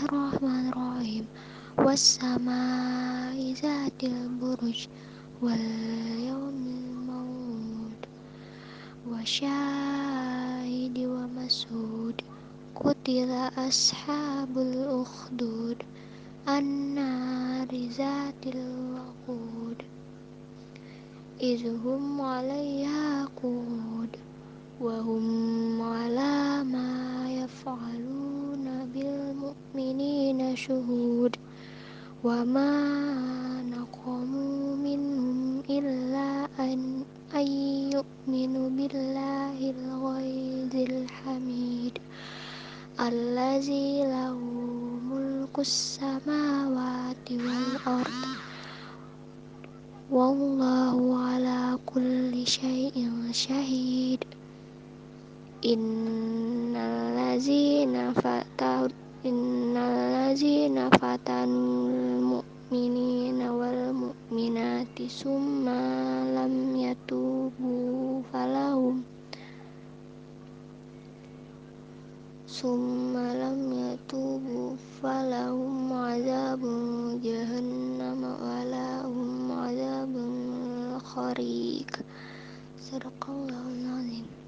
Bismillahirrahmanirrahim. Wassama'i zatil buruj wal yaumil maw'ud wasyahidi wa mas'ud. Qutila ashabul ukhdud annari zatil waqud izhum 'alaiha qu'ud wa hum 'ala ma yaf'aluna bil mu'minina syuhud. Wa ma naqamu minhum illa an yu'minu billahil ghaizil hamid allazi lahu mulkus samawati wal ard wallahu ala kulli syai'in syahid. Innallazina fatanul mu'minina wal mu'minati summa lam yatubu falahum azabun jahannam wa lahum azabun khariq. Sadaqallahul azim.